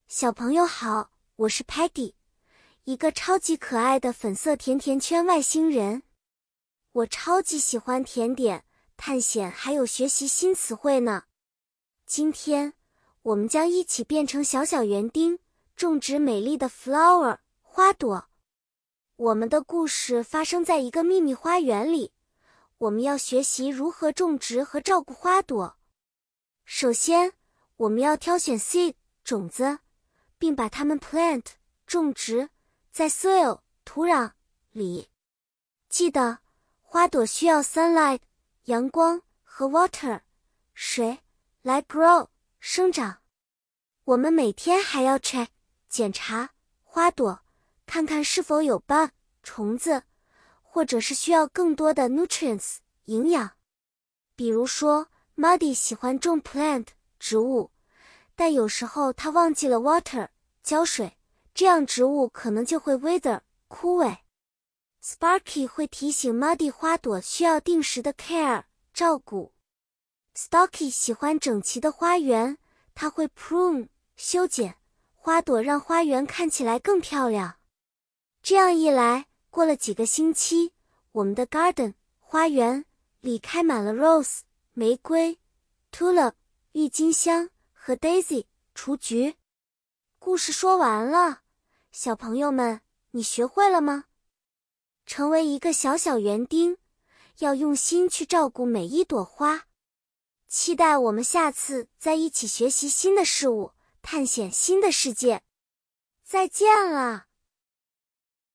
小朋友好，我是 Peggy， 一个超级可爱的粉色甜甜圈外星人。我超级喜欢甜点、探险还有学习新词汇呢。今天，我们将一起变成小小园丁，种植美丽的 flower 花朵。我们的故事发生在一个秘密花园里，我们要学习如何种植和照顾花朵。首先，我们要挑选 seed 种子，并把它们 plant 种植在 soil 土壤里。记得，花朵需要 sunlight 阳光和 water 水来 grow 生长。我们每天还要 check 检查花朵，看看是否有 bug 虫子，或者是需要更多的 nutrients 营养。比如说 Muddy 喜欢种 plant 植物，但有时候他忘记了 water 浇水，这样植物可能就会 wither 枯萎。Sparky 会提醒 Muddy 花朵需要定时的 care 照顾。Stocky 喜欢整齐的花园，他会 prune 修剪花朵，让花园看起来更漂亮。这样一来，过了几个星期，我们的 garden 花园里开满了 rose 玫瑰、tulip 郁金香和 daisy 雏菊。故事说完了，小朋友们，你学会了吗？成为一个小小园丁，要用心去照顾每一朵花。期待我们下次再一起学习新的事物，探险新的世界。再见了。